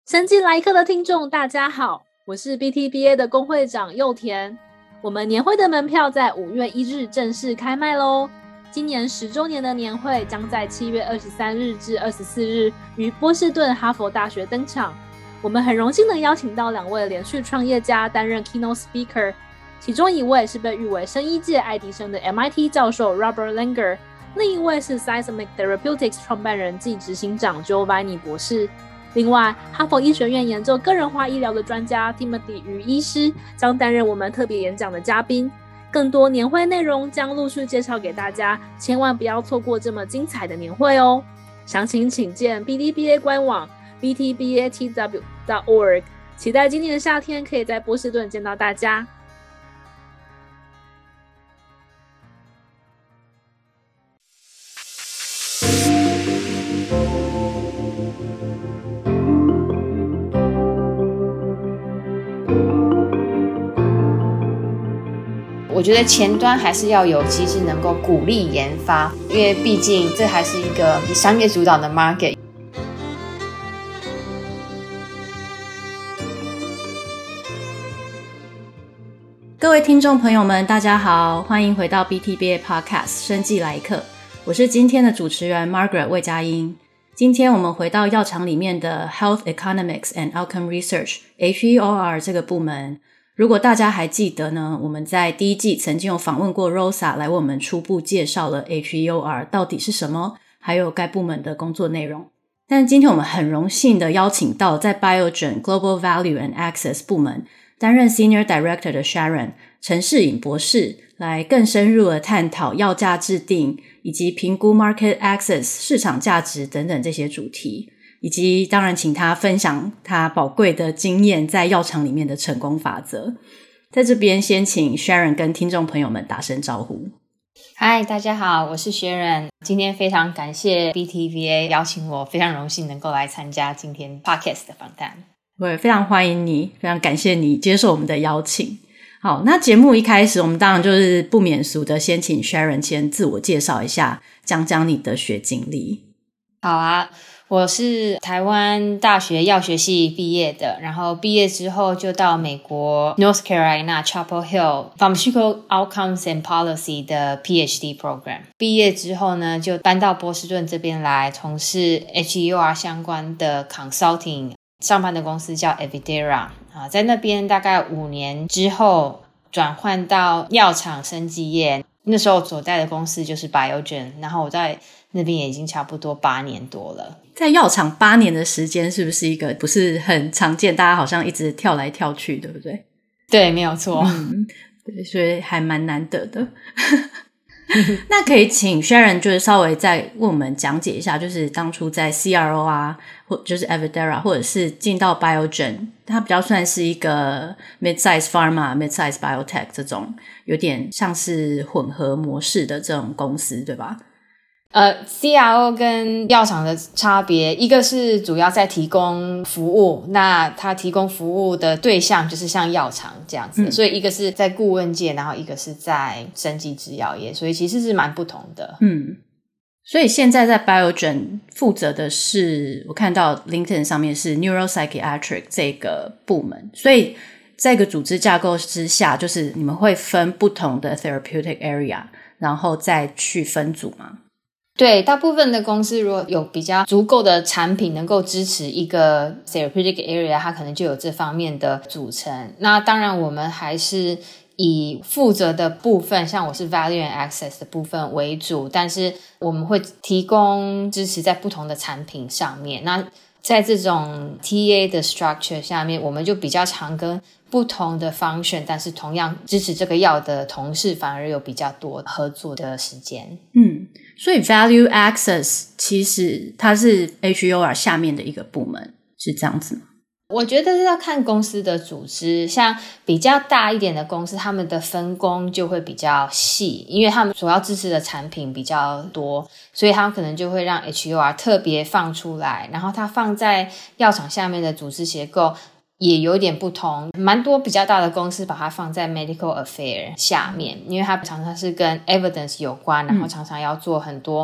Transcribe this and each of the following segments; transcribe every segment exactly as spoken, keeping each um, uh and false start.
生技来客的听众大家好，我是 B T B A 的工会长佑田。我们年会的门票在五月一日正式开卖咯。今年十周年的年会将在七月二十三日至二十四日于波士顿哈佛大学登场。我们很荣幸地邀请到两位连续创业家担任 Keynote Speaker， 其中一位是被誉为生医界爱迪生的 M I T 教授 Robert Langer， 另一位是 Seismic Therapeutics 创办人暨执行长 Giovanni 博士。另外，哈佛医学院研究个人化医疗的专家 Timothy 于医师将担任我们特别演讲的嘉宾。更多年会内容将陆续介绍给大家，千万不要错过这么精彩的年会哦！详情请见 B T B A 官网 b t b a t w dot org， 期待今年的夏天可以在波士顿见到大家。 我觉得前端还是要有机制能够鼓励研发，因为毕竟这还是一个以商业主导的 market。 各位听众朋友们大家好，欢迎回到 B T B A Podcast 生技来客，我是今天的主持人 Margaret 魏佳音。今天我们回到药厂里面的 Health Economics and Outcome Research H E O R 这个部门。如果大家还记得呢，我们在第一季曾经有访问过 Rosa 来为我们初步介绍了 H E O R 到底是什么，还有该部门的工作内容。但今天我们很荣幸的邀请到在 Biogen Global Value and Access 部门担任 Senior Director 的 Sharon 陈世颖博士，来更深入的探讨药价制定以及评估 Market Access 市场价值等等这些主题，以及当然请他分享他宝贵的经验在药厂里面的成功法则。在这边先请 Sharon 跟听众朋友们打声招呼。 嗨，大家好，我是 Sharon。 今天非常感谢 B T B A 邀请我，非常荣幸能够来参加今天 Podcast 的访谈。 我也非常欢迎你，非常感谢你接受我们的邀请。好，那节目一开始我们当然就是不免俗的先请 Sharon 先自我介绍一下，讲讲你的学经历。 好啊，我是台湾大学药学系毕业的，然后毕业之后就到美国 North Carolina Chapel Hill Pharmaceutical Outcomes and Policy 的 P H D program。 毕业之后呢，就搬到波士顿这边来从事 H E O R 相关的 consulting， 上班的公司叫 Evidera， 在那边大概五年之后转换到药厂生技业，那时候所在的公司就是 Biogen， 然后我在那边也已经差不多八年多了。 在药厂八年的时间是不是一个不是很常见，大家好像一直跳来跳去，对不对？ 对，没有错。 嗯，对，所以还蛮难得的。那可以请 Sharon 就是稍微再为我们讲解一下，就是当初在 C R O 啊，或就是 Evidera 或者是进到 Biogen， 它比较算是一个 mid-size pharma mid-size biotech 这种有点像是混合模式的这种公司，对吧？ 呃 C R O 跟药厂的差别，一个是主要在提供服务，那它提供服务的对象就是像药厂这样子、嗯、所以一个是在顾问界，然后一个是在生技制药业，所以其实是蛮不同的。 嗯，所以现在在 Biogen 负责的是，我看到 LinkedIn 上面是 Neuropsychiatric 这个部门，所以这个组织架构之下，就是你们会分不同的 therapeutic area， 然后再去分组吗？ 对，大部分的公司如果有比较足够的产品能够支持一个 therapeutic area， 它可能就有这方面的组成。那当然我们还是以负责的部分，像我是 value and access 的部分为主，但是我们会提供支持在不同的产品上面。那在这种 T A 的 structure 下面，我们就比较常跟不同的 function， 但是同样支持这个药的同事反而有比较多合作的时间。 嗯，所以 value access 其实它是 H E O R 下面的一个部门，是这样子吗？ 我觉得要看公司的组织，像比较大一点的公司，他们的分工就会比较细，因为他们所要支持的产品比较多，所以他们可能就会让 H E O R 特别放出来，然后它放在药厂下面的组织结构也有点不同，蛮多比较大的公司把它放在 medical affair 下面，因为它常常是跟 evidence 有关，然后常常要做很多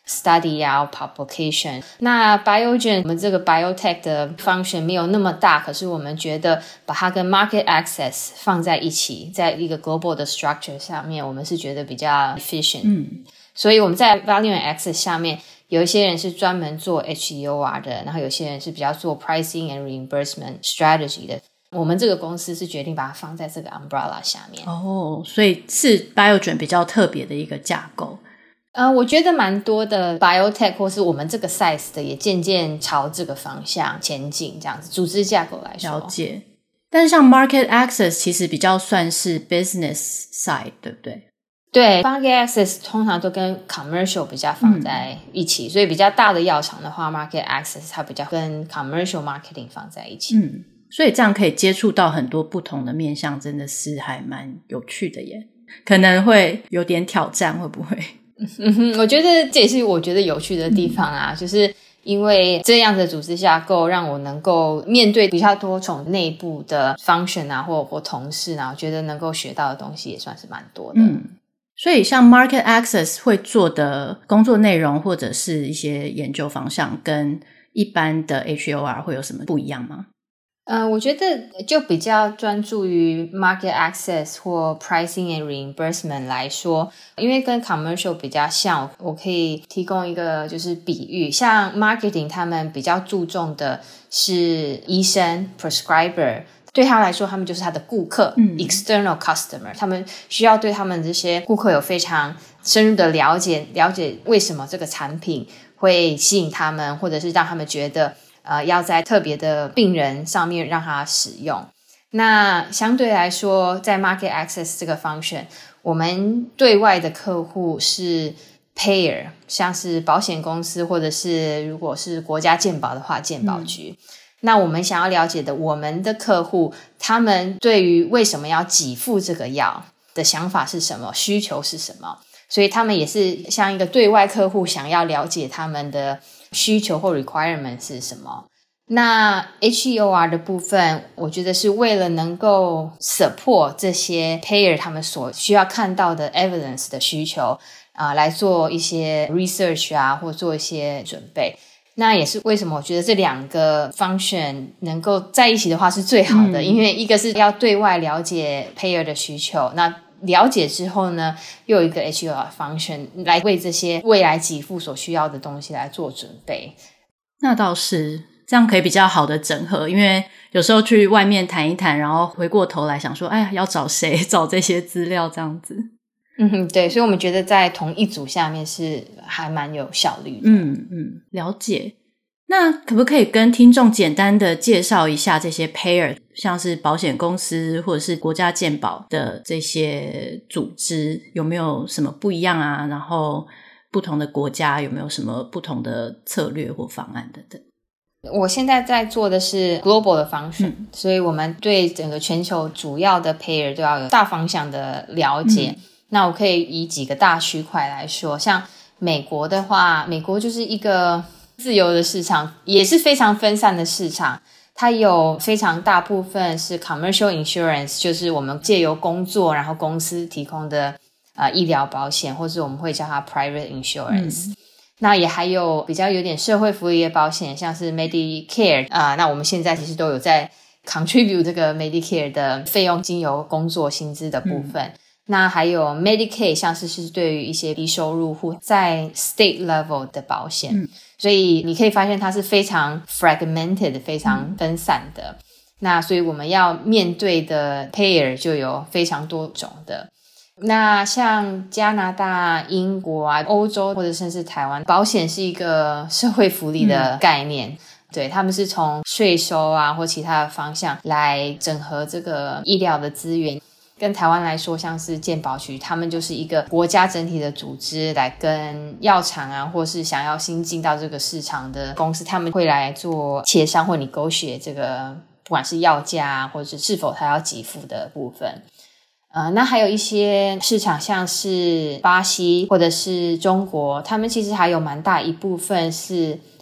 study 啊 publication。 那 Biogen 我们这个 biotech 的 function 没有那么大，可是我们觉得把它跟 market access 放在一起，在一个 global 的 structure 下面，我们是觉得比较 efficient。嗯，所以我们在 value and access 下面有一些人是专门做 H E O R 的，然后有些人是比较做 pricing and reimbursement strategy 的。我们这个公司是决定把它放在这个 umbrella 下面。 哦，所以是 Biogen 比较特别的一个架构。 呃，我觉得蛮多的 biotech 或是我们这个 size 的也渐渐朝这个方向前进，这样子组织架构来说。 了解。但是像 market access 其实比较算是 business side 对不对？ 对， market access 通常都跟 commercial 比较放在一起、嗯、所以比较大的药厂的话 market access 它比较跟 commercial marketing 放在一起。 嗯，所以这样可以接触到很多不同的面向，真的是还蛮有趣的耶。可能会有点挑战，会不会？ 嗯哼，我觉得这也是我觉得有趣的地方啊、嗯、就是因为这样的组织架构让我能够面对比较多种内部的 function 啊或或同事啊，我觉得能够学到的东西也算是蛮多的。 嗯，所以像 market access 会做的工作内容或者是一些研究方向跟一般的 H E O R 会有什么不一样吗？ 呃，我觉得就比较专注于 market access 或 pricing and reimbursement 来说，因为跟 commercial 比较像，我可以提供一个就是比喻，像 marketing 他们比较注重的是医生 prescriber， 对他来说他们就是他的顾客、嗯、external customer， 他们需要对他们这些顾客有非常深入的了解，了解为什么这个产品会吸引他们，或者是让他们觉得呃，要在特别的病人上面让他使用。那相对来说在 market access 这个 function， 我们对外的客户是 payer， 像是保险公司或者是如果是国家健保的话健保局、嗯、那我们想要了解的我们的客户他们对于为什么要给付这个药的想法是什么，需求是什么，所以他们也是像一个对外客户想要了解他们的需求或 requirement 是什么。那 H E O R 的部分我觉得是为了能够 support 这些 payer 他们所需要看到的 evidence 的需求、呃、来做一些 research 啊或做一些准备。那也是为什么我觉得这两个 function 能够在一起的话是最好的、嗯、因为一个是要对外了解 payer 的需求，那了解之后呢又有一个 H E O R function 来为这些未来给付所需要的东西来做准备。 那倒是这样可以比较好的整合，因为有时候去外面谈一谈然后回过头来想说哎呀要找谁找这些资料这样子。 嗯哼，对，所以我们觉得在同一组下面是还蛮有效率的。 嗯嗯，了解。那可不可以跟听众简单的介绍一下这些 payer， 像是保险公司或者是国家健保的这些组织有没有什么不一样啊，然后不同的国家有没有什么不同的策略或方案等等。 我现在在做的是 global 的 function、嗯、所以我们对整个全球主要的 payer 都要有大方向的了解、嗯、那我可以以几个大区块来说，像美国的话，美国就是一个自由的市场，也是非常分散的市场，它有非常大部分是 commercial insurance， 就是我们借由工作然后公司提供的、呃、医疗保险，或是我们会叫它 private insurance、嗯、那也还有比较有点社会福利的保险，像是 Medicare、呃、那我们现在其实都有在 contribute 这个 Medicare 的费用经由工作薪资的部分、嗯，那还有 Medicaid， 像是是对于一些低收入户在 state level 的保险、嗯、所以你可以发现它是非常 fragmented 非常分散的、嗯、那所以我们要面对的 payer 就有非常多种的。那像加拿大、英国啊、欧洲或者甚至台湾，保险是一个社会福利的概念、嗯，对，他们是从税收啊或其他的方向来整合这个医疗的资源。跟台湾来说，像是健保局，他们就是一个国家整体的组织，来跟药厂啊或是想要新进到这个市场的公司，他们会来做协商或negotiate这个不管是药价啊或者是是否他要给付的部分。呃，那还有一些市场像是巴西或者是中国，他们其实还有蛮大一部分是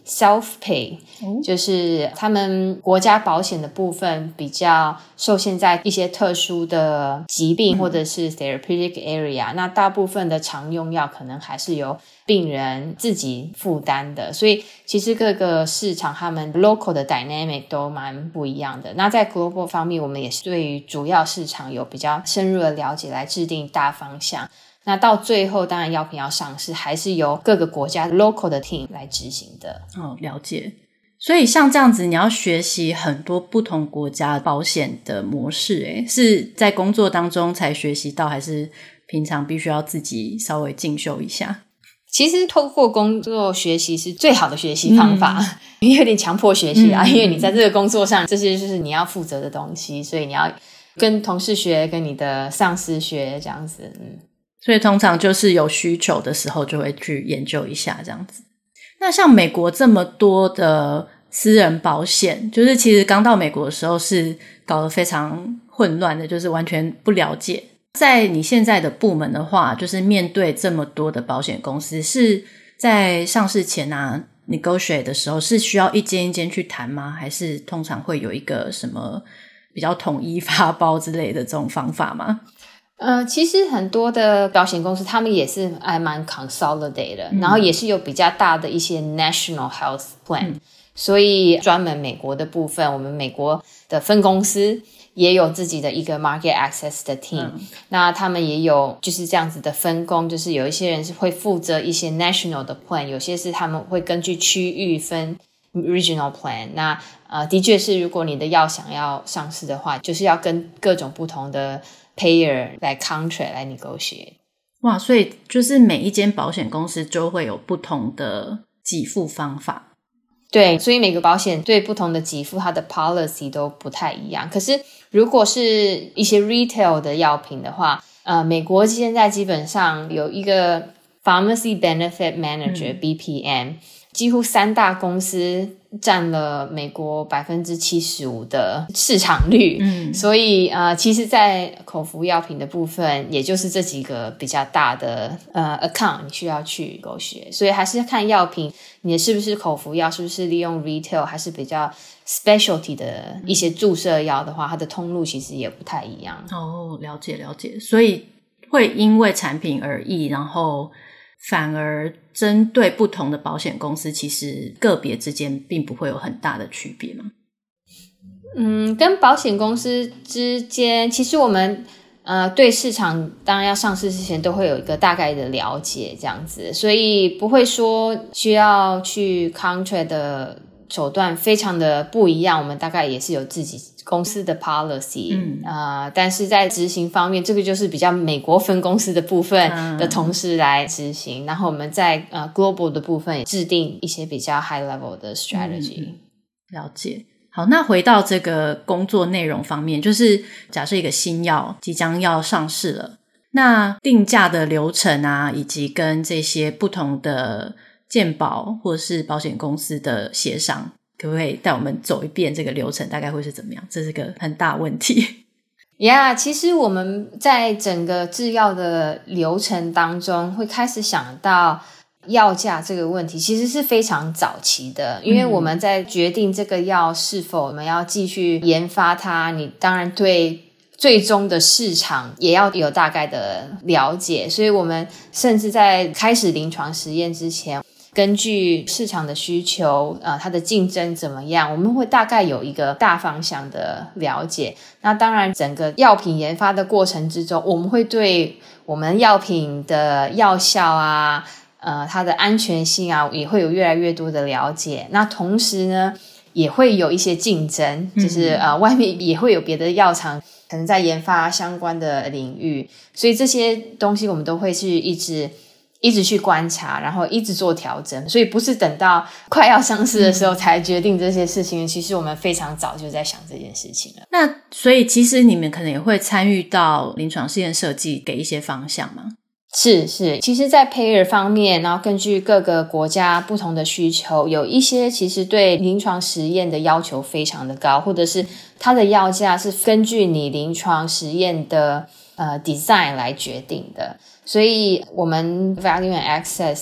self-pay、哦、就是他们国家保险的部分比较受限在一些特殊的疾病或者是 therapeutic area、嗯、那大部分的常用药可能还是由病人自己负担的，所以其实各个市场他们 local 的 dynamic 都蛮不一样的。那在 global 方面，我们也是对于主要市场有比较深入的了解来制定大方向，那到最后当然药品要上市还是由各个国家 local 的 team 来执行的。 哦，了解。所以像这样子你要学习很多不同国家保险的模式，诶，是在工作当中才学习到，还是平常必须要自己稍微进修一下？ 其实透过工作学习是最好的学习方法、嗯、有点强迫学习啊、嗯、因为你在这个工作上这些就是你要负责的东西，所以你要跟同事学，跟你的上司学这样子。嗯， 所以通常就是有需求的时候就会去研究一下这样子。那像美国这么多的私人保险，就是其实刚到美国的时候是搞得非常混乱的，就是完全不了解。在你现在的部门的话，就是面对这么多的保险公司，是在上市前啊 negotiate 的时候是需要一间一间去谈吗？还是通常会有一个什么比较统一发包之类的这种方法吗？ 呃，其实很多的保险公司他们也是还蛮 consolidated 的、嗯、然后也是有比较大的一些 national health plan、嗯、所以专门美国的部分，我们美国的分公司也有自己的一个 market access 的 team、嗯、那他们也有就是这样子的分工，就是有一些人是会负责一些 national 的 plan， 有些是他们会根据区域分 regional plan。 那呃，的确是如果你的药想要上市的话，就是要跟各种不同的 payer 来 contract 来 negotiate。 哇，所以就是每一间保险公司就会有不同的给付方法。 对，所以每个保险对不同的给付它的 policy 都不太一样。可是如果是一些 retail 的药品的话，呃，美国现在基本上有一个 Pharmacy Benefit Manager、嗯、B P M， 几乎三大公司占了美国 百分之七十五 的市场率、嗯、所以呃，其实在口服药品的部分也就是这几个比较大的呃 account 你需要去勾选，所以还是看药品你是不是口服药，是不是利用 retail， 还是比较 specialty 的一些注射药的话，它的通路其实也不太一样。 哦，了解了解。所以会因为产品而异，然后反而针对不同的保险公司，其实个别之间并不会有很大的区别吗？ 嗯，跟保险公司之间，其实我们呃对市场当然要上市之前都会有一个大概的了解这样子，所以不会说需要去 contract 的手段非常的不一样，我们大概也是有自己公司的 policy、嗯呃、但是在执行方面，这个就是比较美国分公司的部分的同事来执行、嗯、然后我们在、呃、global 的部分也制定一些比较 high level 的 strategy、嗯、 了解。好，那回到这个工作内容方面，就是假设一个新药即将要上市了，那定价的流程啊，以及跟这些不同的健保或是保险公司的协商，可不可以带我们走一遍这个流程大概会是怎么样？这是个很大问题。 呀、yeah, 其实我们在整个制药的流程当中会开始想到药价这个问题，其实是非常早期的，因为我们在决定这个药是否我们要继续研发它，你当然对最终的市场也要有大概的了解，所以我们甚至在开始临床实验之前，根据市场的需求呃，它的竞争怎么样，我们会大概有一个大方向的了解。那当然整个药品研发的过程之中，我们会对我们药品的药效啊呃，它的安全性啊也会有越来越多的了解。那同时呢也会有一些竞争，就是呃，外面也会有别的药厂可能在研发相关的领域，所以这些东西我们都会是一直一直去观察，然后一直做调整，所以不是等到快要上市的时候才决定这些事情、嗯、其实我们非常早就在想这件事情了。 那所以其实你们可能也会参与到临床试验设计，给一些方向吗？ 是是，其实在 payer 方面，然后根据各个国家不同的需求，有一些其实对临床实验的要求非常的高，或者是它的药价是根据你临床实验的呃 design 来决定的，所以我们 Value and Access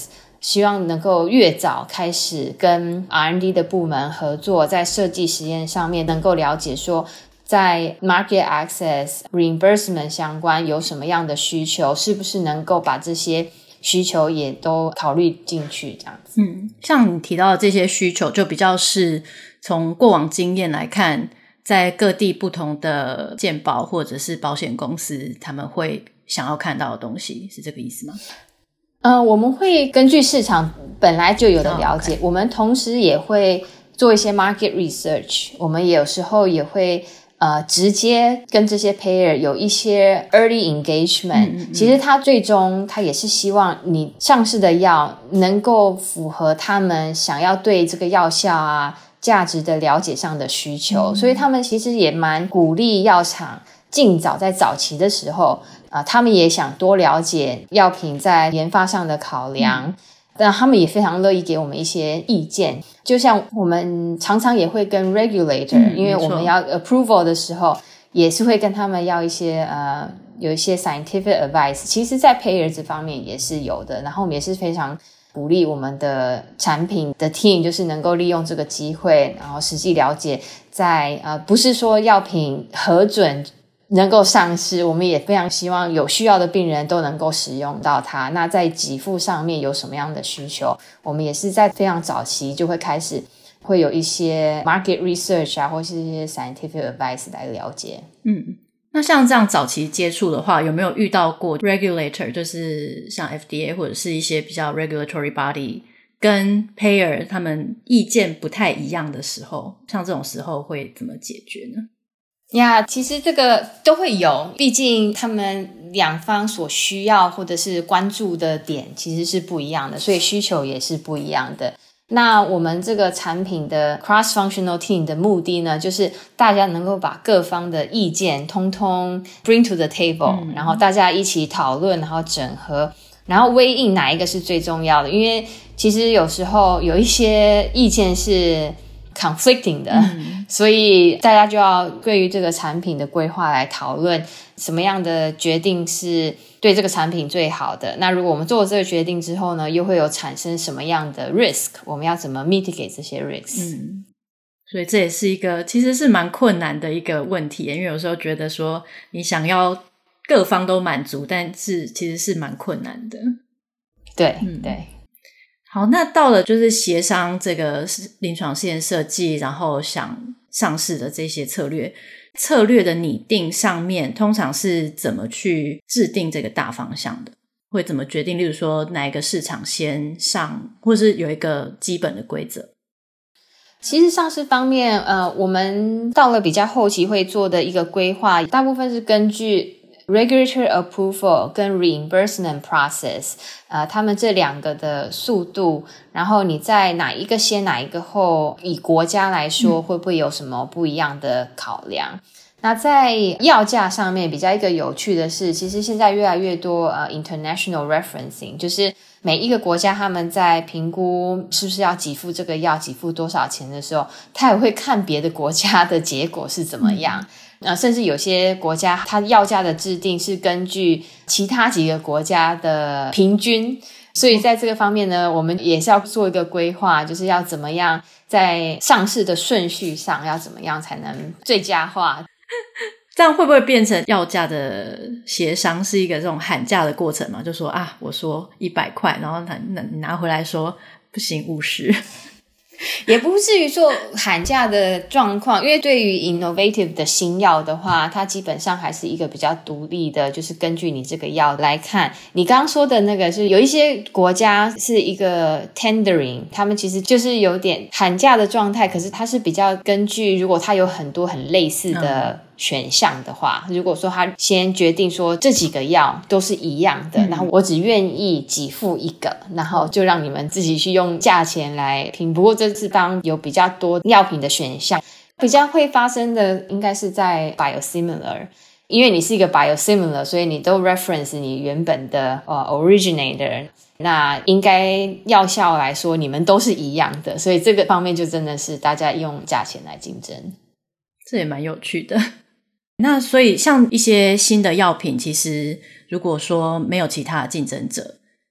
希望能够越早开始跟 R and D 的部门合作，在设计实验上面能够了解说在 market access reimbursement 相关有什么样的需求，是不是能够把这些需求也都考虑进去这样子。 嗯，像你提到的这些需求就比较是从过往经验来看，在各地不同的健保或者是保险公司他们会想要看到的东西，是这个意思吗？ 呃，我们会根据市场本来就有的了解、oh, okay. 我们同时也会做一些 market research， 我们有时候也会呃直接跟这些 payer 有一些 early engagement、嗯嗯、其实他最终他也是希望你上市的药能够符合他们想要对这个药效啊价值的了解上的需求、嗯、所以他们其实也蛮鼓励药厂尽早在早期的时候啊、呃，他们也想多了解药品在研发上的考量、嗯、但他们也非常乐意给我们一些意见，就像我们常常也会跟 regulator、嗯、因为我们要 approval 的时候也是会跟他们要一些呃有一些 scientific advice， 其实在 payer 这方面也是有的，然后我们也是非常鼓励我们的产品的 team 就是能够利用这个机会，然后实际了解在呃不是说药品核准能够上市，我们也非常希望有需要的病人都能够使用到它。那在给付上面有什么样的需求，我们也是在非常早期就会开始会有一些 market research 啊，或是一些 scientific advice 来了解。 嗯，那像这样早期接触的话，有没有遇到过 regulator， 就是像 F D A 或者是一些比较 regulatory body 跟 payer 他们意见不太一样的时候，像这种时候会怎么解决呢？ 呀、yeah, 其实这个都会有，毕竟他们两方所需要或者是关注的点其实是不一样的，所以需求也是不一样的。那我们这个产品的 cross-functional team 的目的呢，就是大家能够把各方的意见通通 bring to the table、嗯、然后大家一起讨论，然后整合，然后weigh in哪一个是最重要的。因为其实有时候有一些意见是conflicting 的、嗯、所以大家就要对于这个产品的规划来讨论什么样的决定是对这个产品最好的。那如果我们做了这个决定之后呢，又会有产生什么样的 risk， 我们要怎么 mitigate 这些 risk。 嗯，所以这也是一个其实是蛮困难的一个问题，因为有时候觉得说你想要各方都满足，但是其实是蛮困难的。 对、 嗯、 对。 好，那到了就是协商这个临床试验设计，然后想上市的这些策略策略的拟定上面，通常是怎么去制定这个大方向的？会怎么决定例如说哪一个市场先上，或是有一个基本的规则？ 其实上市方面呃，我们到了比较后期会做的一个规划，大部分是根据regulatory approval 跟 reimbursement process 呃，他们这两个的速度，然后你在哪一个先哪一个后，以国家来说会不会有什么不一样的考量、嗯、那在药价上面比较一个有趣的是，其实现在越来越多呃 international referencing， 就是每一个国家他们在评估是不是要给付这个药给付多少钱的时候，他也会看别的国家的结果是怎么样、嗯呃，甚至有些国家它药价的制定是根据其他几个国家的平均，所以在这个方面呢，我们也是要做一个规划，就是要怎么样在上市的顺序上要怎么样才能最佳化。 这样会不会变成药价的协商是一个这种喊价的过程嘛？就说啊，我说一百块，然后你拿回来说不行五十。 也不至于说喊价的状况，因为对于 innovative 的新药的话，它基本上还是一个比较独立的，就是根据你这个药来看。你刚刚说的那个是有一些国家是一个 tendering， 他们其实就是有点喊价的状态，可是它是比较根据如果它有很多很类似的选项的话、嗯、如果说他先决定说这几个药都是一样的、嗯、然后我只愿意给付一个，然后就让你们自己去用价钱来评。不过这次当有比较多药品的选项，比较会发生的应该是在 biosimilar， 因为你是一个 biosimilar， 所以你都 reference 你原本的、呃、originator， 那应该药效来说你们都是一样的，所以这个方面就真的是大家用价钱来竞争。 这也蛮有趣的。那所以像一些新的药品，其实如果说没有其他的竞争者，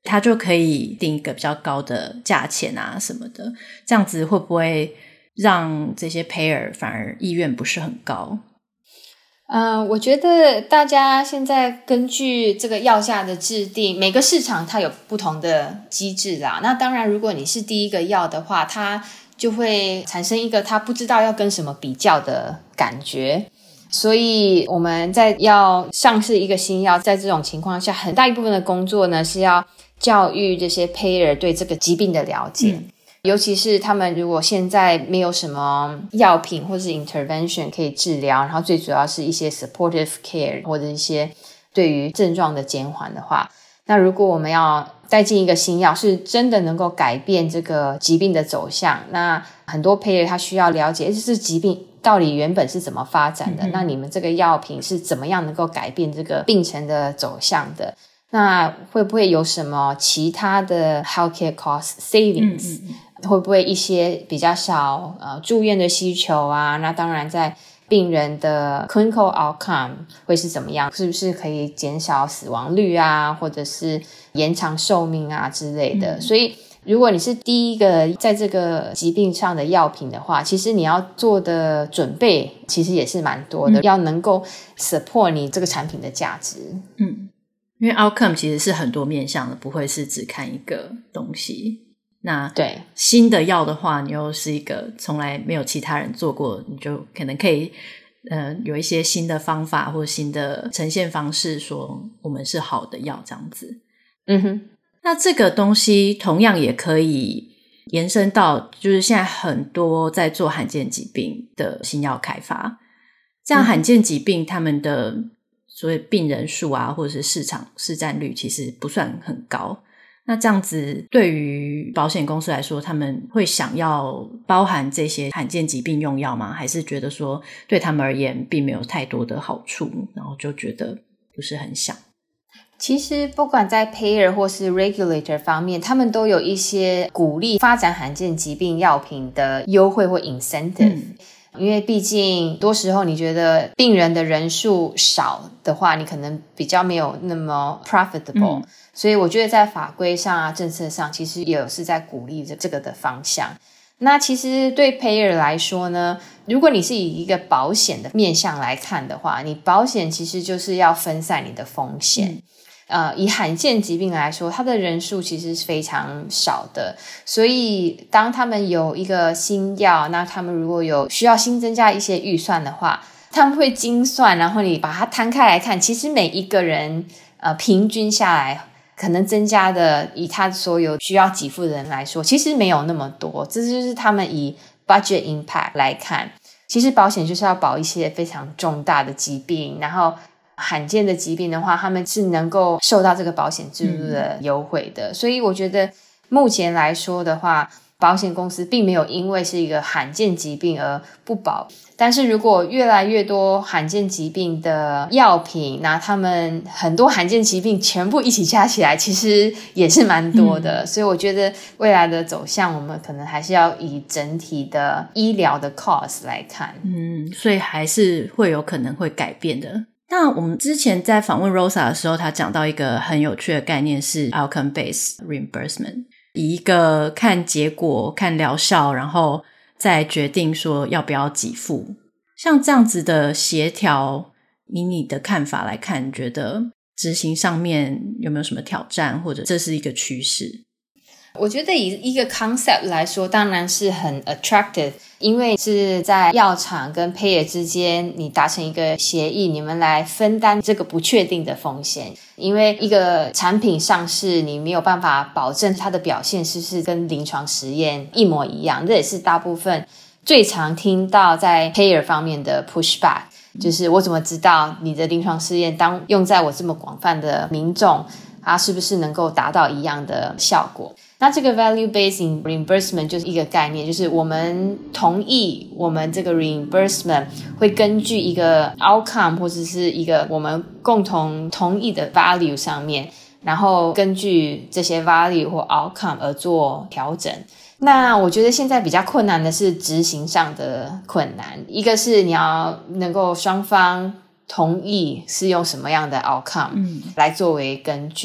他就可以定一个比较高的价钱啊什么的，这样子会不会让这些 payer 反而意愿不是很高？ 呃，我觉得大家现在根据这个药价的制定，每个市场它有不同的机制啦。那当然如果你是第一个药的话，它就会产生一个他不知道要跟什么比较的感觉。所以我们在要上市一个新药，在这种情况下，很大一部分的工作呢是要教育这些 payer 对这个疾病的了解、嗯、尤其是他们如果现在没有什么药品或是 intervention 可以治疗，然后最主要是一些 supportive care 或者一些对于症状的减缓的话，那如果我们要带进一个新药是真的能够改变这个疾病的走向，那很多 payer 他需要了解这疾病到底原本是怎么发展的、嗯、那你们这个药品是怎么样能够改变这个病程的走向的，那会不会有什么其他的 healthcare cost savings、嗯嗯、会不会一些比较少呃住院的需求啊，那当然在病人的 clinical outcome 会是怎么样，是不是可以减少死亡率啊，或者是延长寿命啊之类的、嗯、所以如果你是第一个在这个疾病上的药品的话，其实你要做的准备其实也是蛮多的、嗯、要能够 support 你这个产品的价值。 嗯，因为 outcome 其实是很多面向的，不会是只看一个东西。那对新的药的话，你又是一个从来没有其他人做过，你就可能可以呃有一些新的方法或新的呈现方式，说我们是好的药这样子。 嗯哼， 那这个东西同样也可以延伸到就是现在很多在做罕见疾病的新药开发，这样罕见疾病他们的所谓病人数啊或者是市场市占率其实不算很高，那这样子对于保险公司来说，他们会想要包含这些罕见疾病用药吗？还是觉得说对他们而言并没有太多的好处，然后就觉得不是很想？ 其实不管在 payer 或是 regulator 方面，他们都有一些鼓励发展罕见疾病药品的优惠或 incentive、嗯、因为毕竟多时候你觉得病人的人数少的话，你可能比较没有那么 profitable、嗯、所以我觉得在法规上啊政策上其实也有是在鼓励这个的方向。那其实对 payer 来说呢，如果你是以一个保险的面向来看的话，你保险其实就是要分散你的风险、嗯呃，以罕见疾病来说，它的人数其实是非常少的，所以当他们有一个新药，那他们如果有需要新增加一些预算的话，他们会精算，然后你把它摊开来看，其实每一个人呃平均下来可能增加的，以他所有需要给付的人来说，其实没有那么多，这就是他们以 budget impact 来看，其实保险就是要保一些非常重大的疾病，然后罕见的疾病的话，他们是能够受到这个保险制度的优惠的、嗯、所以我觉得目前来说的话，保险公司并没有因为是一个罕见疾病而不保，但是如果越来越多罕见疾病的药品，那他们很多罕见疾病全部一起加起来其实也是蛮多的、嗯、所以我觉得未来的走向我们可能还是要以整体的医疗的 cost 来看。 嗯，所以还是会有可能会改变的。那我们之前在访问 Rosa 的时候，她讲到一个很有趣的概念是 outcome based reimbursement， 以一个看结果看疗效然后再决定说要不要给付，像这样子的协调，以你的看法来看，你觉得执行上面有没有什么挑战，或者这是一个趋势？ 我觉得以一个 concept 来说当然是很 attractive， 因为是在药厂跟 payer 之间你达成一个协议，你们来分担这个不确定的风险，因为一个产品上市你没有办法保证它的表现是不是跟临床实验一模一样，这也是大部分最常听到在 payer 方面的 pushback， 就是我怎么知道你的临床试验当用在我这么广泛的民众，它是不是能够达到一样的效果。那这个 value-based reimbursement 就是一个概念，就是我们同意我们这个 reimbursement 会根据一个 outcome 或者是一个我们共同同意的 value 上面，然后根据这些 value 或 outcome 而做调整。那我觉得现在比较困难的是执行上的困难，一个是你要能够双方同意是用什么样的 outcome 来作为根据、嗯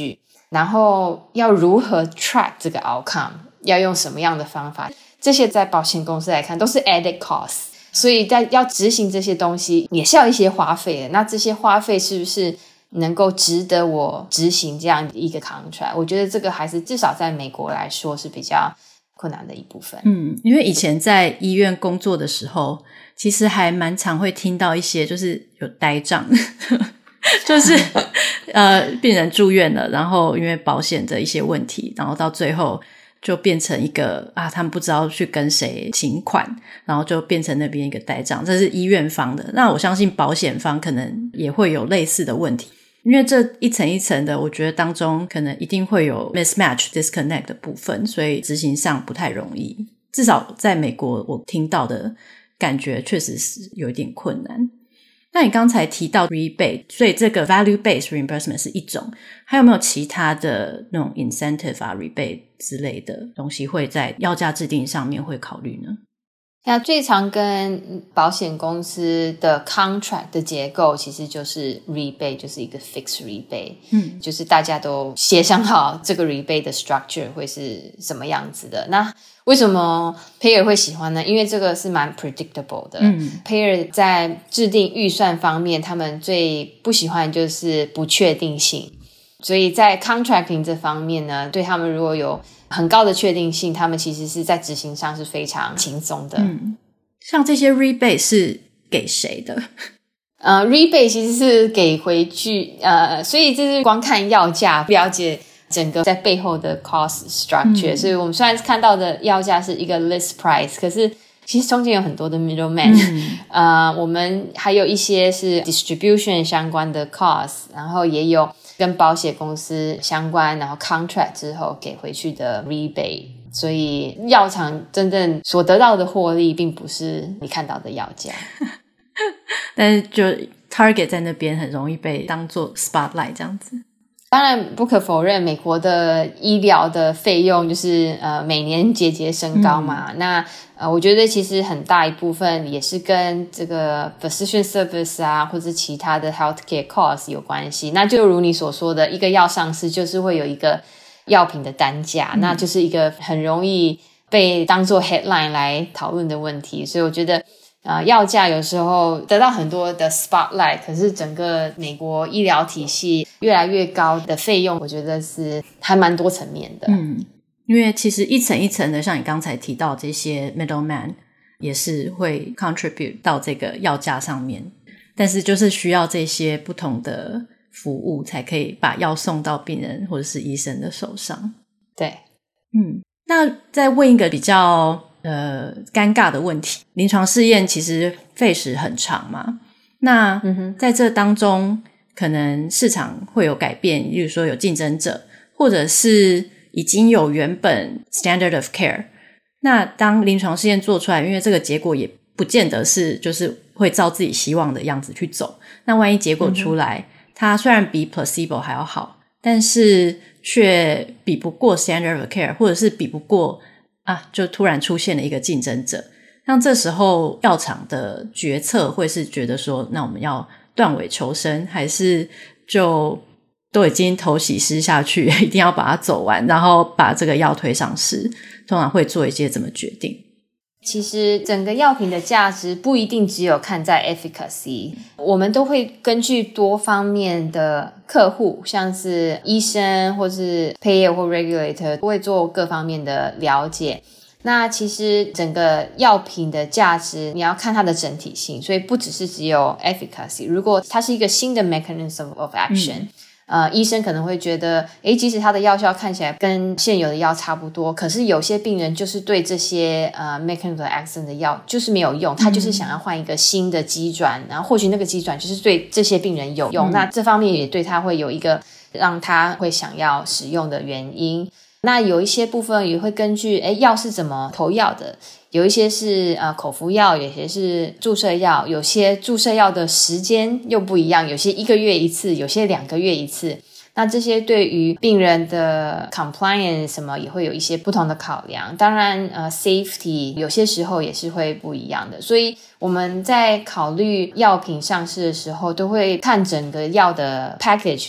然后要如何 track 这个 outcome， 要用什么样的方法，这些在保险公司来看都是 added cost， 所以在要执行这些东西也是要一些花费的。那这些花费是不是能够值得我执行这样一个 contract？ 我觉得这个还是至少在美国来说是比较困难的一部分。 嗯，因为以前在医院工作的时候，其实还蛮常会听到一些就是有呆账就是呃，病人住院了，然后因为保险的一些问题，然后到最后就变成一个啊，他们不知道去跟谁请款，然后就变成那边一个呆账，这是医院方的。那我相信保险方可能也会有类似的问题，因为这一层一层的，我觉得当中可能一定会有 mismatch disconnect 的部分，所以执行上不太容易。至少在美国我听到的感觉确实是有一点困难。那你刚才提到 rebate， 所以这个 value-based reimbursement 是一种，还有没有其他的那种 incentive 啊 rebate 之类的东西会在药价制定上面会考虑呢？ 那最常跟保险公司的 contract 的结构其实就是 rebate， 就是一个 fixed rebate， 嗯，就是大家都协商好这个 rebate 的 structure 会是什么样子的。那为什么 payer 会喜欢呢？因为这个是蛮 predictable 的。嗯 payer 在制定预算方面，他们最不喜欢就是不确定性，所以在 contracting 这方面呢，对他们如果有很高的确定性，他们其实是在执行上是非常轻松的。 嗯，像这些 rebate 是给谁的？ 呃 rebate 其实是给回去，呃，所以这是光看药价不了解整个在背后的 cost structure，嗯，所以我们虽然看到的药价是一个 list price， 可是其实中间有很多的 middleman，嗯，呃，我们还有一些是 distribution 相关的 cost， 然后也有跟保险公司相关，然后 contract 之后给回去的 rebate， 所以药厂真正所得到的获利并不是你看到的药价但是就 target 在那边很容易被当作 spotlight 这样子。 当然不可否认美国的医疗的费用就是呃每年节节升高嘛，嗯，那呃我觉得其实很大一部分也是跟这个 physician service 啊或者其他的 healthcare cost 有关系。那就如你所说的，一个药上市就是会有一个药品的单价，嗯，那就是一个很容易被当作 headline 来讨论的问题。所以我觉得呃，药价有时候得到很多的 spotlight， 可是整个美国医疗体系越来越高的费用，我觉得是还蛮多层面的。 嗯，因为其实一层一层的，像你刚才提到这些 middleman 也是会 contribute 到这个药价上面，但是就是需要这些不同的服务才可以把药送到病人或者是医生的手上。 对， 嗯，那再问一个比较呃，尴尬的问题，临床试验其实费时很长嘛，那在这当中可能市场会有改变，例如说有竞争者，或者是已经有原本 standard of care， 那当临床试验做出来，因为这个结果也不见得是就是会照自己希望的样子去走，那万一结果出来，嗯，它虽然比 placebo 还要好，但是却比不过 standard of care， 或者是比不过啊，就突然出现了一个竞争者，像这时候药厂的决策会是觉得说，那我们要断尾求生，还是就都已经头洗湿下去，一定要把它走完，然后把这个药推上市，通常会做一些怎么决定？ 其实整个药品的价值不一定只有看在 efficacy， 我们都会根据多方面的客户，像是医生或是 payer 或 regulator 都会做各方面的了解。那其实整个药品的价值你要看它的整体性，所以不只是只有 efficacy， 如果它是一个新的 mechanism of action，嗯，呃，医生可能会觉得诶即使他的药效看起来跟现有的药差不多，可是有些病人就是对这些呃 mechanism of action 的药就是没有用，他就是想要换一个新的机转，然后或许那个机转就是对这些病人有用，嗯，那这方面也对他会有一个让他会想要使用的原因。那有一些部分也会根据诶药是怎么投药的，有一些是呃口服药，有些是注射药，有些注射药的时间又不一样，有些一个月一次，有些两个月一次，那这些对于病人的 compliance 什么也会有一些不同的考量。当然呃 safety 有些时候也是会不一样的，所以我们在考虑药品上市的时候都会看整个药的 package，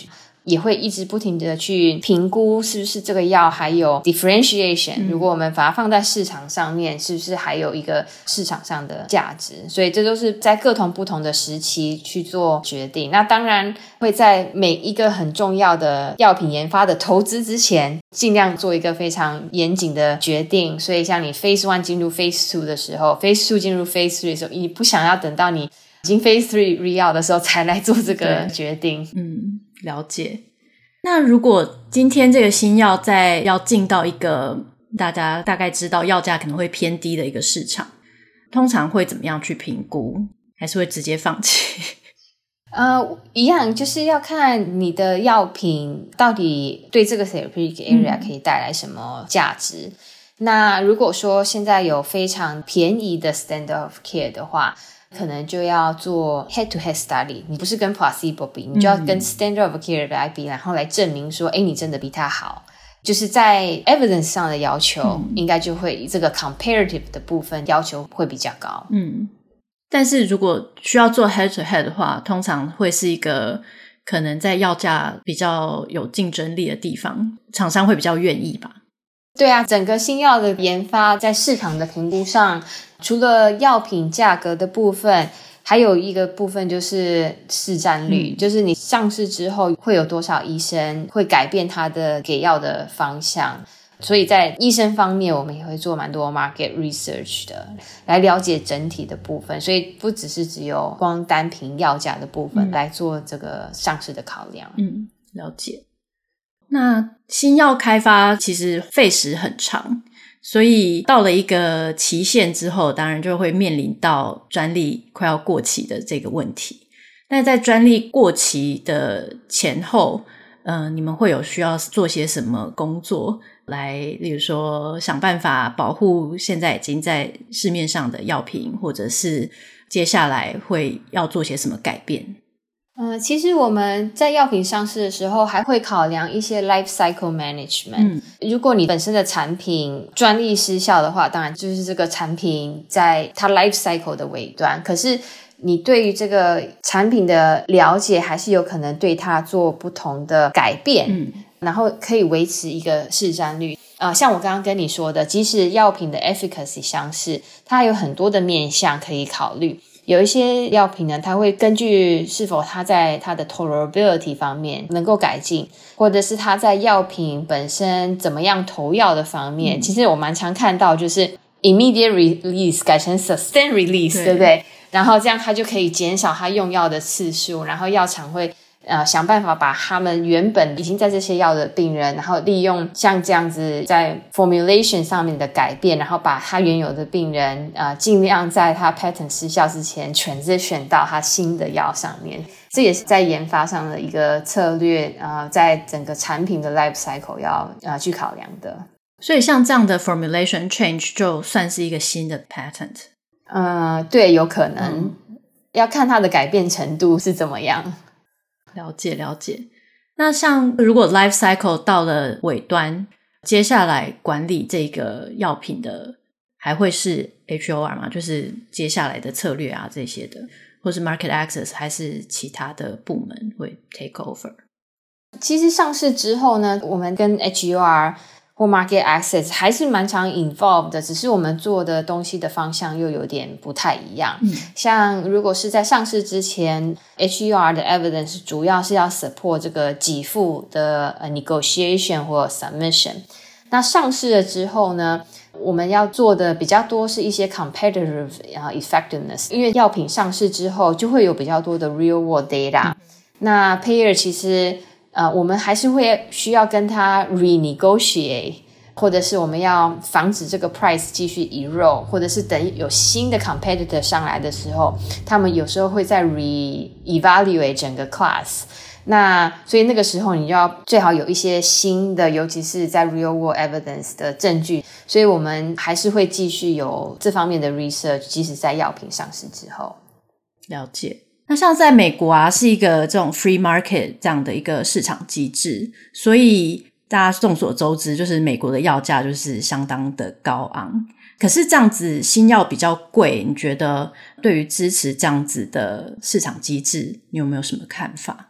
也会一直不停的去评估是不是这个药还有 differentiation、嗯、如果我们把它放在市场上面是不是还有一个市场上的价值，所以这都是在各同不同的时期去做决定。那当然会在每一个很重要的药品研发的投资之前尽量做一个非常严谨的决定，所以像你 phase one 进入 phase two 的时候， phase two 进入 phase three 的时候，你不想要等到你已经 phase three real 的时候才来做这个决定。 嗯，了解。那如果今天这个新药在要进到一个大家大概知道药价可能会偏低的一个市场，通常会怎么样去评估？还是会直接放弃？ 呃，一样，就是要看你的药品到底对这个 therapeutic area 可以带来什么价值、嗯、那如果说现在有非常便宜的 standard of care 的话，可能就要做 head to head study， 你不是跟 placebo 比，你就要跟 standard of care 来比、嗯、然后来证明说诶你真的比它好，就是在 evidence 上的要求、嗯、应该就会这个 comparative 的部分要求会比较高。 嗯，但是如果需要做 head to head 的话，通常会是一个可能在药价比较有竞争力的地方，厂商会比较愿意吧。 对啊，整个新药的研发在市场的评估上，除了药品价格的部分，还有一个部分就是市占率、嗯、就是你上市之后会有多少医生会改变他的给药的方向，所以在医生方面我们也会做蛮多 market research 的，来了解整体的部分，所以不只是只有光单凭药价的部分、嗯、来做这个上市的考量。 嗯，了解。那新药开发其实费时很长，所以到了一个期限之后，当然就会面临到专利快要过期的这个问题。但在专利过期的前后，呃，你们会有需要做些什么工作来，例如说想办法保护现在已经在市面上的药品，或者是接下来会要做些什么改变？ 呃，其实我们在药品上市的时候还会考量一些 life cycle management、嗯、如果你本身的产品专利失效的话，当然就是这个产品在它 life cycle 的尾端，可是你对于这个产品的了解还是有可能对它做不同的改变、嗯、然后可以维持一个市占率。呃，像我刚刚跟你说的，即使药品的 efficacy 相似，它还有很多的面向可以考虑。有一些药品呢，它会根据是否它在它的 tolerability 方面能够改进，或者是它在药品本身怎么样投药的方面、嗯、其实我蛮常看到就是 immediate release 改成 sustained release， 对, 对不对？然后这样它就可以减少它用药的次数，然后药厂会呃，想办法把他们原本已经在这些药的病人，然后利用像这样子在 formulation 上面的改变，然后把他原有的病人呃，尽量在他 patent 失效之前 transition 到他新的药上面。这也是在研发上的一个策略，呃，在整个产品的 life cycle 要呃去考量的。 所以像这样的 formulation change 就算是一个新的 patent？ 呃，对，有可能、嗯、要看它的改变程度是怎么样。 了解了解。那像如果 life cycle 到了尾端，接下来管理这个药品的还会是 H O R 吗？就是接下来的策略啊这些的，或是 market access， 还是其他的部门会 take over？ 其实上市之后呢，我们跟 H O R 或 market access 还是蛮常 involved 的，只是我们做的东西的方向又有点不太一样、嗯、像如果是在上市之前 H E R 的 evidence 主要是要 support 这个给付的 negotiation 或 submission， 那上市了之后呢，我们要做的比较多是一些 competitive effectiveness， 因为药品上市之后就会有比较多的 real world data、嗯、那 payer 其实呃，我们还是会需要跟他 renegotiate， 或者是我们要防止这个 price 继续 erode， 或者是等有新的 competitor 上来的时候，他们有时候会再 re-evaluate 整个 class。那所以那个时候你就要最好有一些新的，尤其是在 real world evidence 的证据，所以我们还是会继续有这方面的 research， 即使在药品上市之后。 了解。那像在美国啊，是一个这种 free market 这样的一个市场机制，所以大家众所周知，就是美国的药价就是相当的高昂。可是这样子新药比较贵，你觉得对于支持这样子的市场机制，你有没有什么看法？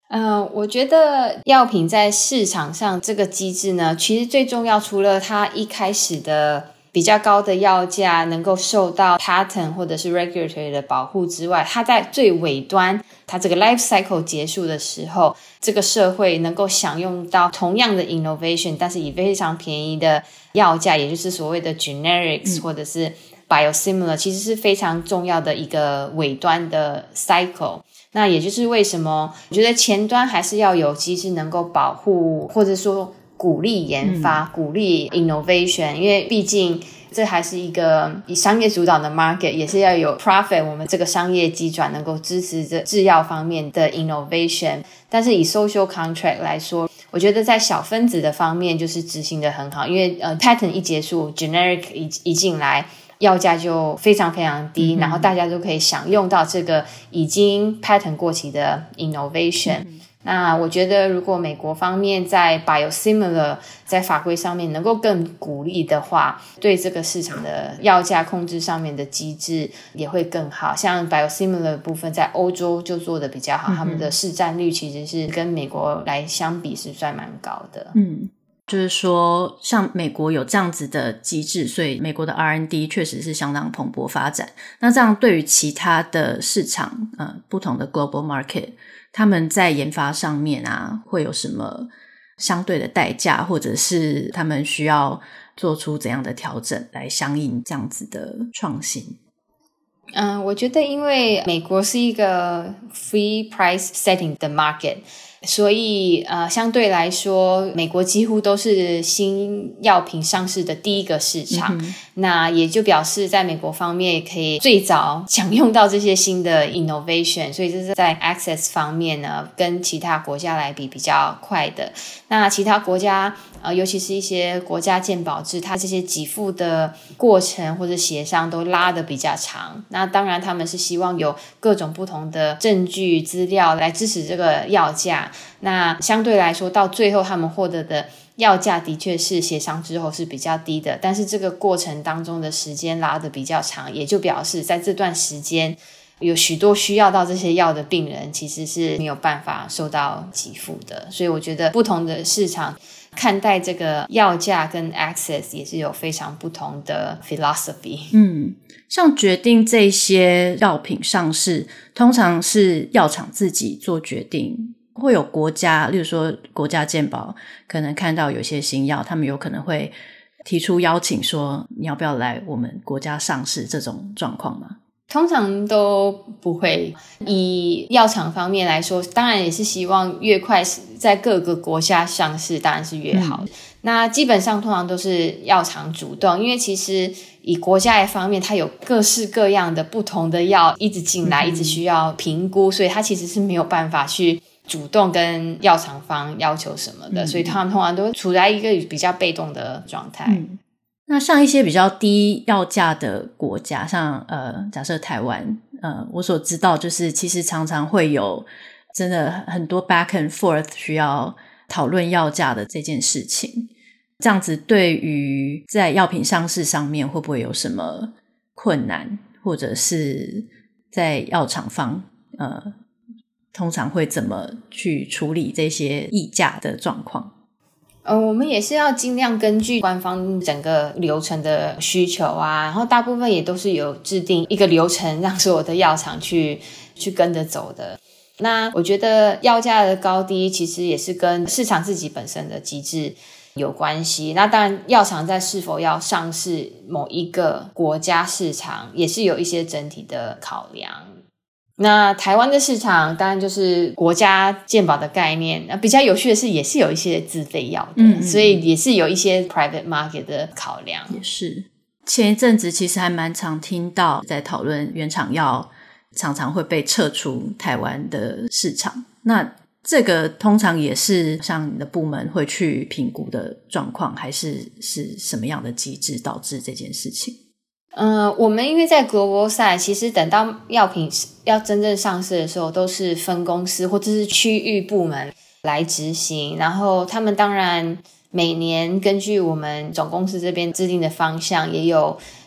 呃，我觉得药品在市场上这个机制呢，其实最重要，除了它一开始的比较高的药价能够受到 patent 或者是 regulatory 的保护之外，它在最尾端，它这个 life cycle 结束的时候，这个社会能够享用到同样的 innovation， 但是以非常便宜的药价，也就是所谓的 generics、嗯、或者是 biosimilar， 其实是非常重要的一个尾端的 cycle。那也就是为什么我觉得前端还是要有机制能够保护或者说鼓励研发、嗯、鼓励 innovation， 因为毕竟这还是一个以商业主导的 market， 也是要有 profit， 我们这个商业机转能够支持这制药方面的 innovation。 但是以 social contract 来说，我觉得在小分子的方面就是执行得很好，因为呃 patent 一结束 generic 一, 一进来，药价就非常非常低、嗯、然后大家都可以享用到这个已经 patent 过期的 innovation、嗯、那我觉得如果美国方面在 biosimilar 在法规上面能够更鼓励的话，对这个市场的药价控制上面的机制也会更好。像 biosimilar 的部分在欧洲就做得比较好、嗯、他们的市占率其实是跟美国来相比是算蛮高的。 嗯，就是说像美国有这样子的机制，所以美国的 R and D 确实是相当蓬勃发展。那这样对于其他的市场呃，不同的 global market， 他们在研发上面啊会有什么相对的代价，或者是他们需要做出怎样的调整来相应这样子的创新？ 嗯，我觉得因为美国是一个 free price setting 的 market，所以呃，相对来说美国几乎都是新药品上市的第一个市场、嗯、那也就表示在美国方面也可以最早享用到这些新的 innovation， 所以这是在 access 方面呢跟其他国家来比比较快的。那其他国家呃，尤其是一些国家健保制，它这些给付的过程或者协商都拉得比较长，那当然他们是希望有各种不同的证据资料来支持这个药价，那相对来说到最后他们获得的药价的确是协商之后是比较低的，但是这个过程当中的时间拉得比较长，也就表示在这段时间有许多需要到这些药的病人其实是没有办法受到给付的。所以我觉得不同的市场看待这个药价跟 access 也是有非常不同的 philosophy。 嗯，像决定这些药品上市通常是药厂自己做决定，会有国家，例如说国家健保可能看到有些新药，他们有可能会提出邀请说你要不要来我们国家上市，这种状况吗？ 通常都不会。以药厂方面来说，当然也是希望越快在各个国家上市当然是越好、嗯、那基本上通常都是药厂主动，因为其实以国家的方面它有各式各样的不同的药一直进来、嗯、一直需要评估，所以它其实是没有办法去主动跟药厂方要求什么的、嗯、所以他们通常都处在一个比较被动的状态、 嗯。那像一些比较低药价的国家，像呃，假设台湾，呃，我所知道就是其实常常会有真的很多 back and forth 需要讨论药价的这件事情，这样子对于在药品上市上面会不会有什么困难，或者是在药厂方呃，通常会怎么去处理这些议价的状况？ 呃，我们也是要尽量根据官方整个流程的需求啊，然后大部分也都是有制定一个流程让所有的药厂去去跟着走的。那我觉得药价的高低其实也是跟市场自己本身的机制有关系，那当然药厂在是否要上市某一个国家市场也是有一些整体的考量。那台湾的市场当然就是国家健保的概念，那比较有趣的是也是有一些自费药的、嗯、所以也是有一些 private market 的考量。 也是前一阵子其实还蛮常听到在讨论原厂药常常会被撤出台湾的市场，那这个通常也是像你的部门会去评估的状况，还是是什么样的机制导致这件事情？ 呃，我们因为在 global side 其实等到药品要真正上市的时候都是分公司或者是区域部门来执行，然后他们当然每年根据我们总公司这边制定的方向也有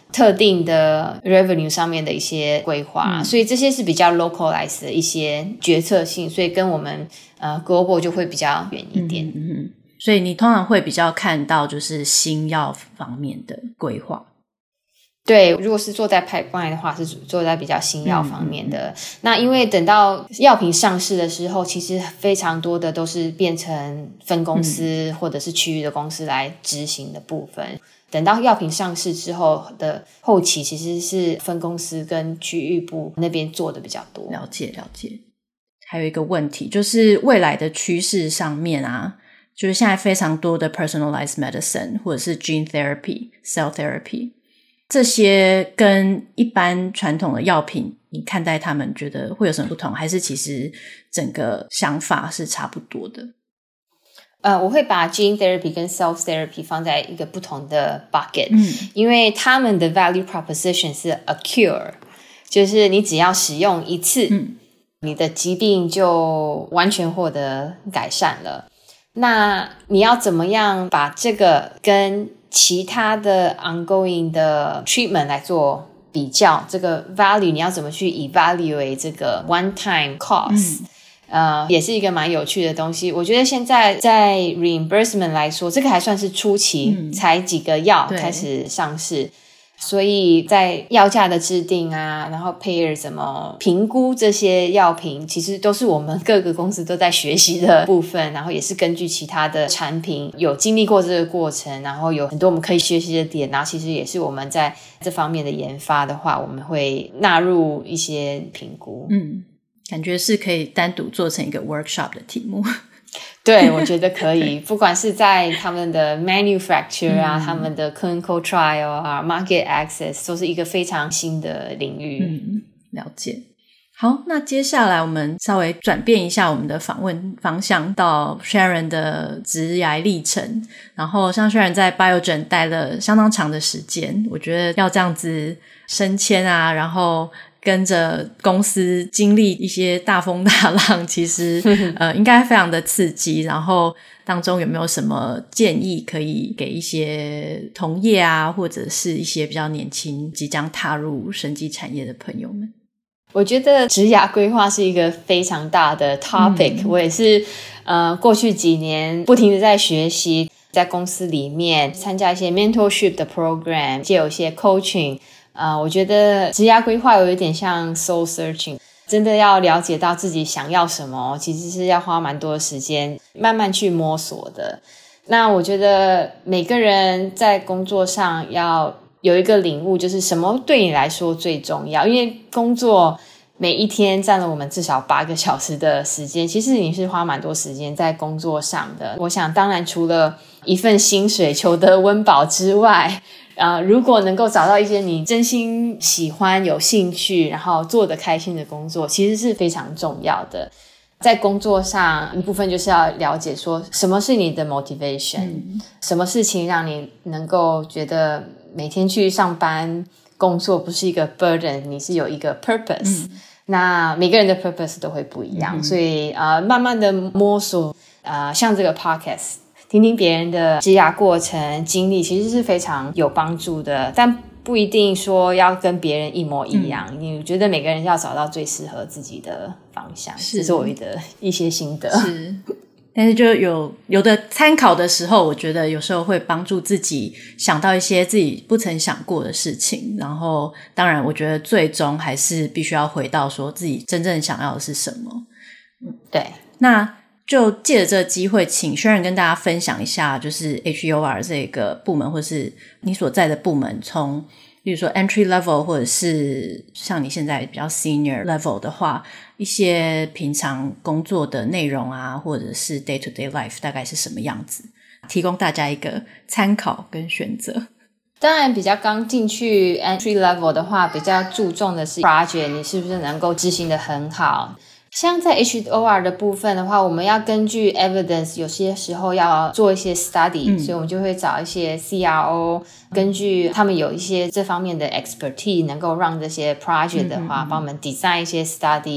特定的 revenue 上面的一些规划、嗯、所以这些是比较 localized 的一些决策性，所以跟我们呃 global 就会比较远一点。 嗯嗯，所以你通常会比较看到就是新药方面的规划。 对，如果是做在 pipeline 的话是做在比较新药方面的、嗯、那因为等到药品上市的时候，其实非常多的都是变成分公司或者是区域的公司来执行的部分、嗯、等到药品上市之后的后期其实是分公司跟区域部那边做的比较多。 了解了解。还有一个问题就是未来的趋势上面啊，就是现在非常多的 personalized medicine 或者是 gene therapy cell therapy，这些跟一般传统的药品你看待他们觉得会有什么不同，还是其实整个想法是差不多的？ 呃，我会把 gene therapy 跟 cell therapy 放在一个不同的 bucket、嗯、因为他们的 value proposition 是 a cure， 就是你只要使用一次、嗯、你的疾病就完全获得改善了。那你要怎么样把这个跟其他的 ongoing 的 treatment 来做比较，这个 value 你要怎么去 evaluate 这个 one time cost、嗯、呃，也是一个蛮有趣的东西。我觉得现在在 reimbursement 来说，这个还算是初期、嗯、才几个药开始上市，所以在药价的制定啊，然后 payer 怎么评估这些药品，其实都是我们各个公司都在学习的部分，然后也是根据其他的产品有经历过这个过程，然后有很多我们可以学习的点，然后其实也是我们在这方面的研发的话，我们会纳入一些评估。 嗯，感觉是可以单独做成一个 workshop 的题目。 对，我觉得可以不管是在他们的 manufacture 啊、嗯、他们的 clinical trial 啊 market access 都是一个非常新的领域。 嗯，了解。好，那接下来我们稍微转变一下我们的访问方向到 Sharon 的职涯历程。然后像 Sharon 在 Biogen 待了相当长的时间，我觉得要这样子升迁啊，然后跟着公司经历一些大风大浪，其实呃应该非常的刺激。然后当中有没有什么建议可以给一些同业啊，或者是一些比较年轻即将踏入生技产业的朋友们？ 我觉得职涯规划是一个非常大的 topic、嗯、我也是呃过去几年不停的在学习，在公司里面参加一些 mentorship 的 program， 也有一些 coaching。呃，我觉得职涯规划有一点像 soul searching， 真的要了解到自己想要什么，其实是要花蛮多的时间慢慢去摸索的。那我觉得每个人在工作上要有一个领悟，就是什么对你来说最重要，因为工作每一天占了我们至少八个小时的时间，其实你是花蛮多时间在工作上的。我想当然除了一份薪水求得温饱之外，呃，如果能够找到一些你真心喜欢有兴趣然后做得开心的工作，其实是非常重要的。在工作上一部分就是要了解说什么是你的 motivation、嗯、什么事情让你能够觉得每天去上班工作不是一个 burden， 你是有一个 purpose、嗯、那每个人的 purpose 都会不一样、嗯、所以呃，慢慢的摸索呃，像这个 podcast听听别人的职涯过程经历，其实是非常有帮助的，但不一定说要跟别人一模一样、嗯、你觉得每个人要找到最适合自己的方向，这是我的一些心得。 是，但是就有有的参考的时候，我觉得有时候会帮助自己想到一些自己不曾想过的事情，然后当然我觉得最终还是必须要回到说自己真正想要的是什么。 嗯，对。 那就借着这个机会请 Sharon 跟大家分享一下，就是 H E O R 这个部门或是你所在的部门，从比如说 entry level 或者是像你现在比较 senior level 的话，一些平常工作的内容啊，或者是 day to day life 大概是什么样子，提供大家一个参考跟选择。 当然比较刚进去 entry level 的话，比较注重的是 project 你是不是能够执行得很好。像在 H E O R 的部分的话，我们要根据 evidence， 有些时候要做一些 study、嗯、所以我们就会找一些 C R O， 根据他们有一些这方面的 expertise， 能够让这些 project 的话、嗯、帮我们 design 一些 study，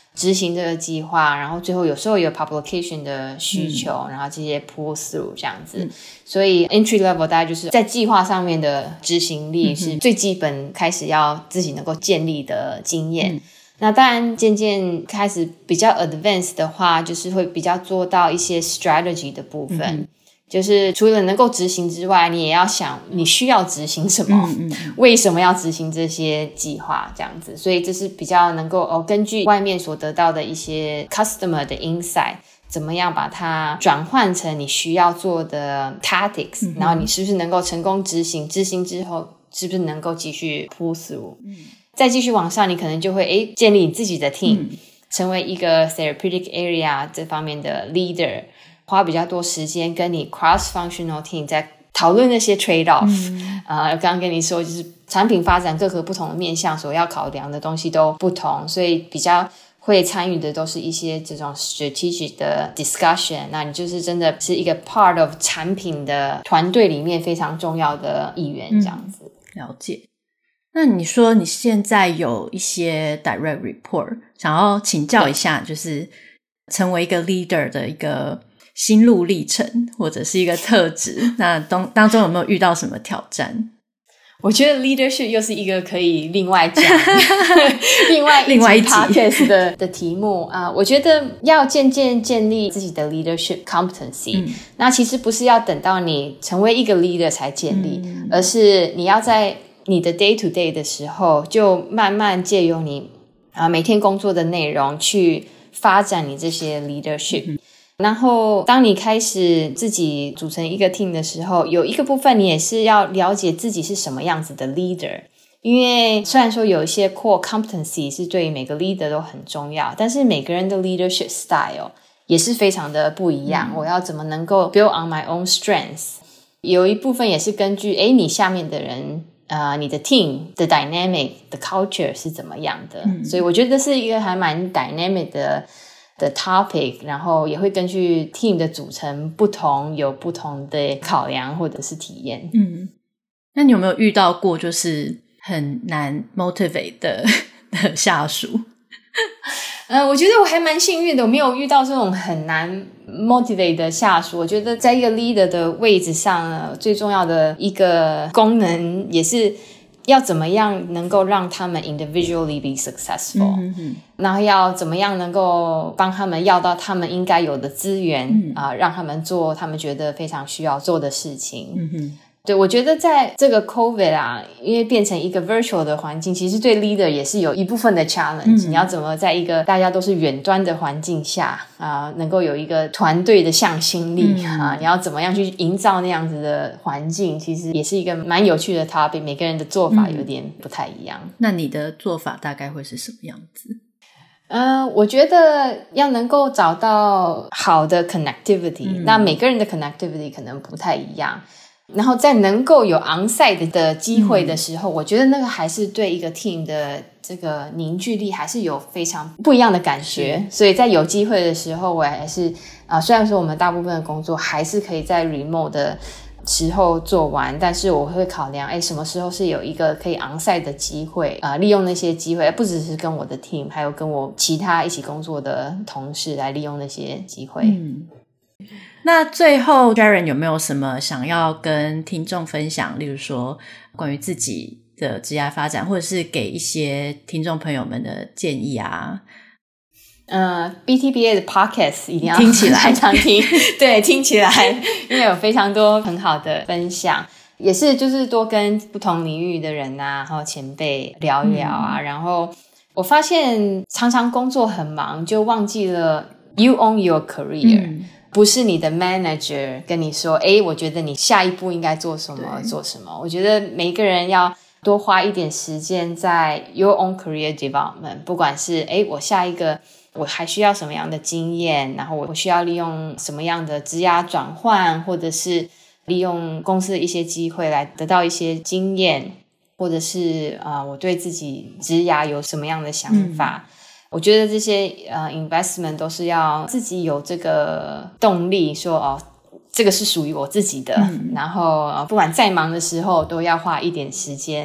执行这个计划，然后最后有时候有 publication 的需求、嗯、然后这些 pull through 这样子、嗯、所以 entry level 大概就是在计划上面的执行力是最基本开始要自己能够建立的经验、嗯，那当然渐渐开始比较 advanced 的话，就是会比较做到一些 strategy 的部分、嗯、就是除了能够执行之外，你也要想你需要执行什么、嗯嗯、为什么要执行这些计划这样子，所以这是比较能够、哦、根据外面所得到的一些 customer 的 insight， 怎么样把它转换成你需要做的 tactics、嗯、然后你是不是能够成功执行，执行之后是不是能够继续 pull through、嗯，再继续往上，你可能就会诶建立你自己的 team、嗯、成为一个 therapeutic area 这方面的 leader， 花比较多时间跟你 cross functional team 在讨论那些 trade off、嗯呃、刚刚跟你说就是产品发展各个不同的面向所要考量的东西都不同，所以比较会参与的都是一些这种 strategic 的 discussion， 那你就是真的是一个 part of 产品的团队里面非常重要的一员这样子、 嗯、了解。那你说你现在有一些 direct report， 想要请教一下，就是成为一个 leader 的一个心路历程或者是一个特质那当当中有没有遇到什么挑战？ 我觉得 leadership 又是一个可以另外讲另外另外一集 podcast 的, 的题目啊、呃。我觉得要渐渐建立自己的 leadership competency、嗯、那其实不是要等到你成为一个 leader 才建立、嗯、而是你要在你的 day to day 的时候就慢慢借由你、呃、每天工作的内容去发展你这些 leadership、嗯，然后当你开始自己组成一个 team 的时候，有一个部分你也是要了解自己是什么样子的 leader， 因为虽然说有一些 core competency 是对于每个 leader 都很重要，但是每个人的 leadership style 也是非常的不一样、嗯、我要怎么能够 build on my own strengths， 有一部分也是根据诶你下面的人呃，你的 team 的 dynamic 的 culture 是怎么样的、嗯、所以我觉得这是一个还蛮 dynamic 的的 topic， 然后也会根据 team 的组成不同有不同的考量或者是体验。 嗯，那你有没有遇到过就是很难 motivate 的, 的下属？ 呃，我觉得我还蛮幸运的，我没有遇到这种很难 motivate 的下属。我觉得在一个 leader 的位置上呢，最重要的一个功能也是要怎么样能够让他们 individually be successful、嗯、哼哼然后要怎么样能够帮他们要到他们应该有的资源、嗯呃、让他们做他们觉得非常需要做的事情、嗯哼对，我觉得在这个 COVID 啊，因为变成一个 virtual 的环境，其实对 leader 也是有一部分的 challenge、嗯、你要怎么在一个大家都是远端的环境下啊、呃，能够有一个团队的向心力、嗯、啊，你要怎么样去营造那样子的环境，其实也是一个蛮有趣的 topic， 每个人的做法有点不太一样、嗯、 那你的做法大概会是什么样子？ 呃，我觉得要能够找到好的 connectivity、嗯、那每个人的 connectivity 可能不太一样，然后在能够有 onsite 的机会的时候、嗯、我觉得那个还是对一个 team 的这个凝聚力还是有非常不一样的感觉，所以在有机会的时候我还是、呃、虽然说我们大部分的工作还是可以在 remote 的时候做完，但是我会考量诶什么时候是有一个可以 onsite 的机会、呃、利用那些机会，不只是跟我的 team 还有跟我其他一起工作的同事来利用那些机会、嗯， 那最后 Sharon 有没有什么想要跟听众分享，例如说关于自己的职业发展，或者是给一些听众朋友们的建议啊？ 呃 B T B A 的 podcast 一定要听起来常听对，听起来因为有非常多很好的分享，也是就是多跟不同领域的人啊还有前辈聊一聊啊、嗯、然后我发现常常工作很忙就忘记了 you own your career、嗯，不是你的 manager 跟你说诶我觉得你下一步应该做什么做什么，我觉得每一个人要多花一点时间在 your own career development， 不管是诶我下一个我还需要什么样的经验，然后我需要利用什么样的职涯转换，或者是利用公司的一些机会来得到一些经验，或者是、呃、我对自己职涯有什么样的想法、嗯，我觉得这些呃 investment 都是要自己有这个动力说哦，这个是属于我自己的、嗯、然后、呃、不管再忙的时候都要花一点时间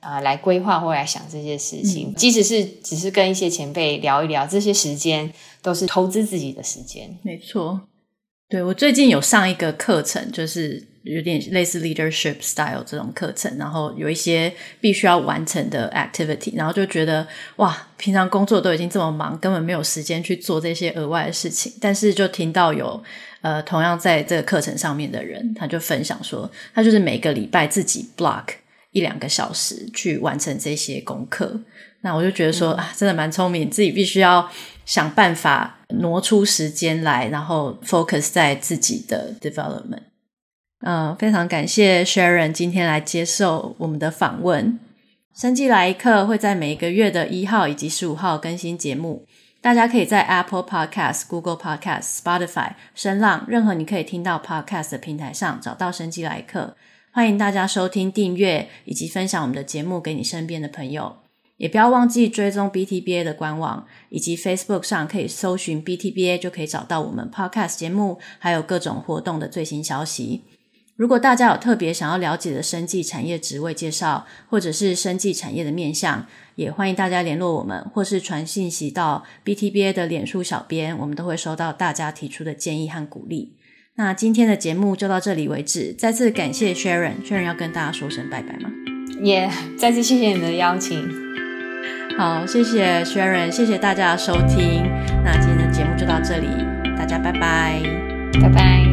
呃、来规划或来想这些事情、 嗯、 即使是只是跟一些前辈聊一聊，这些时间都是投资自己的时间。 没错，对，我最近有上一个课程，就是有点类似 leadership style 这种课程，然后有一些必须要完成的 activity， 然后就觉得哇，平常工作都已经这么忙，根本没有时间去做这些额外的事情，但是就听到有呃同样在这个课程上面的人，他就分享说他就是每个礼拜自己 block 一两个小时去完成这些功课。那我就觉得说、嗯、啊，真的蛮聪明，自己必须要想办法挪出时间来，然后 focus 在自己的 development。嗯，非常感谢 Sharon 今天来接受我们的访问。生技来一课会在每个月的一号以及十五号更新节目，大家可以在 Apple Podcast、Google Podcast、Spotify、声浪任何你可以听到 Podcast 的平台上找到生技来一课。欢迎大家收听、订阅以及分享我们的节目给你身边的朋友。也不要忘记追踪 B T B A 的官网，以及 Facebook 上可以搜寻 B T B A 就可以找到我们 Podcast 节目还有各种活动的最新消息。如果大家有特别想要了解的生技产业职位介绍，或者是生技产业的面向，也欢迎大家联络我们，或是传信息到 B T B A 的脸书小编，我们都会收到大家提出的建议和鼓励。那今天的节目就到这里为止，再次感谢 Sharon Sharon 要跟大家说声拜拜吗？ 也、yeah, 再次谢谢你的邀请。 好，谢谢 Sharon， 谢谢大家的收听。那今天的节目就到这里，大家拜拜， 拜拜。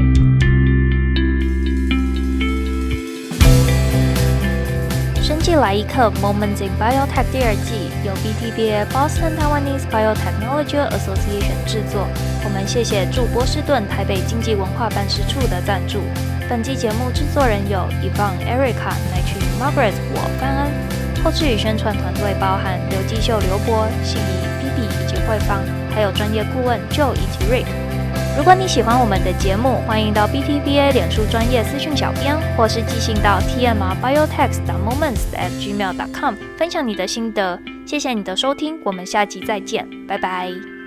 生技来一课 Moments in Biotech 第二季由 B T B A Boston Taiwanese Biotechnology Association 制作。我们谢谢驻波士顿台北经济文化办事处的赞助。本期节目制作人有 Yvonne、Erica、乃曲、Margaret、我范恩。后制与宣传团队包含刘基秀、刘博、信怡、B B 以及慧芳，还有专业顾问 Joe 以及 Rick。如果你喜欢我们的节目，欢迎到 B T B A 脸书专业私讯小编，或是寄信到 t m r biotech dot moments at gmail dot com 分享你的心得。谢谢你的收听，我们下集再见，拜拜。